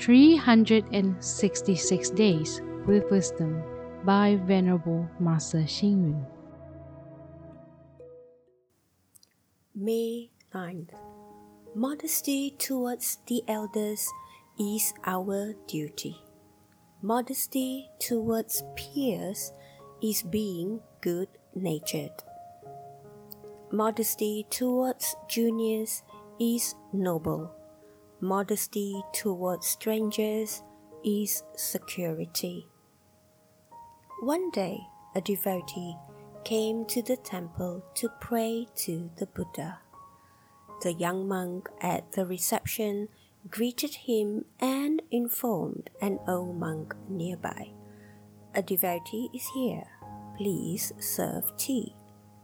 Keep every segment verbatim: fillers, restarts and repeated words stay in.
three hundred sixty-six Days with Wisdom by Venerable Master Xing Yun. May ninth. Modesty towards the elders is our duty. Modesty towards peers is being good-natured. Modesty towards juniors is noble. Modesty towards strangers is security. One day, a devotee came to the temple to pray to the Buddha. The young monk at the reception greeted him and informed an old monk nearby, "A devotee is here. Please serve tea."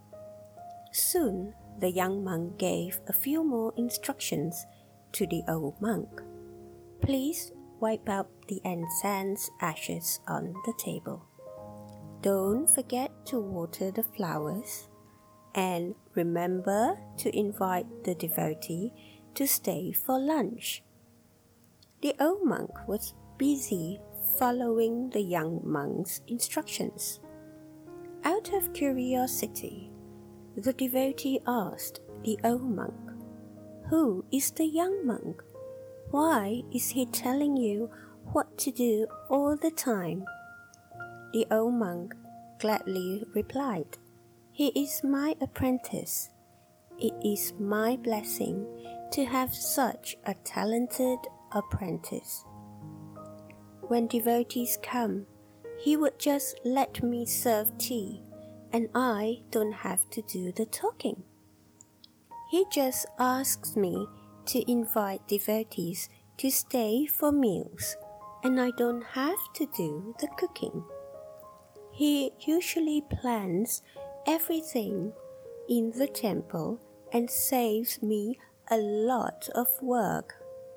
Soon, the young monk gave a few more instructions to the old monk. "Please wipe out the incense ashes on the table. Don't forget to water the flowers, and remember to invite the devotee to stay for lunch." The old monk was busy following the young monk's instructions. Out of curiosity, the devotee asked the old monk, "Who is the young monk? Why is he telling you what to do all the time?" The old monk gladly replied, "He is my apprentice. It is my blessing to have such a talented apprentice. When devotees come, he would just let me serve tea, and I don't have to do the talking. He just asks me to invite devotees to stay for meals, and I don't have to do the cooking. He usually plans everything in the temple and saves me a lot of work."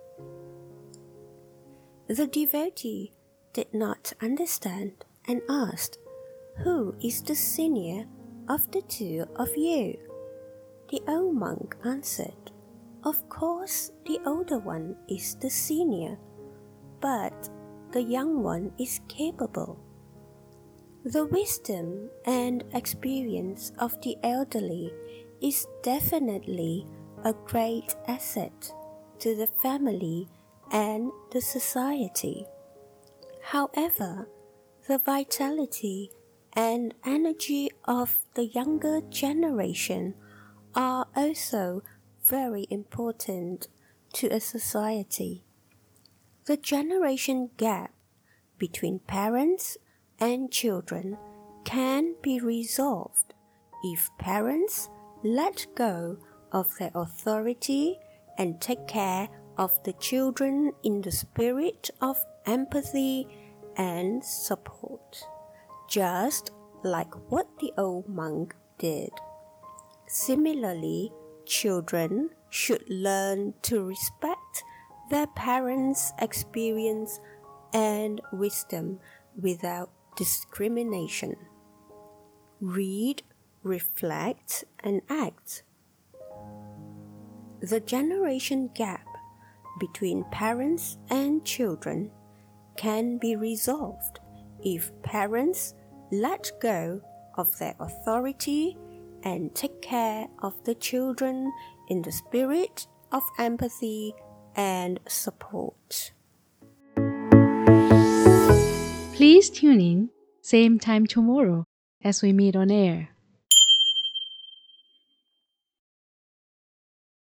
The devotee did not understand and asked, "Who is the senior of the two of you?" The old monk answered, "Of course the older one is the senior, but the young one is capable. The wisdom and experience of the elderly is definitely a great asset to the family and the society. However, the vitality and energy of the younger generation are also very important to a society. The generation gap between parents and children can be resolved if parents let go of their authority and take care of the children in the spirit of empathy and support, just like what the old monk did. Similarly, children should learn to respect their parents' experience and wisdom without discrimination. Read, reflect, and act. The generation gap between parents and children can be resolved if parents let go of their authority and take care of the children in the spirit of empathy and support. Please tune in, same time tomorrow as we meet on air.